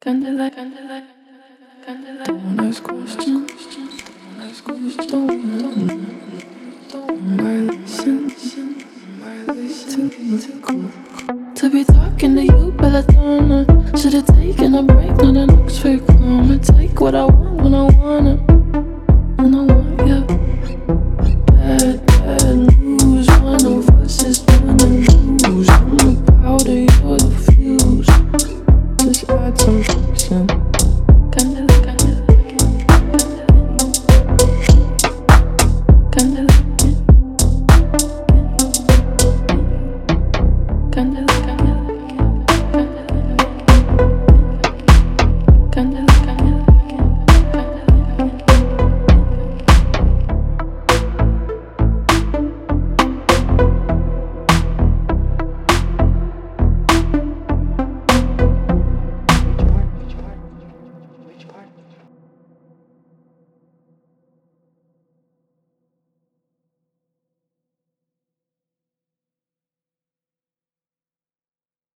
Don't ask questions. To be talking to you, Belladonna. Should've taken a break, not an Oxford comma. Take what I want when I want it. When I want you. Bad news. One of us is gonna lose. I'm the powder, you're the fuse. Just add some friction.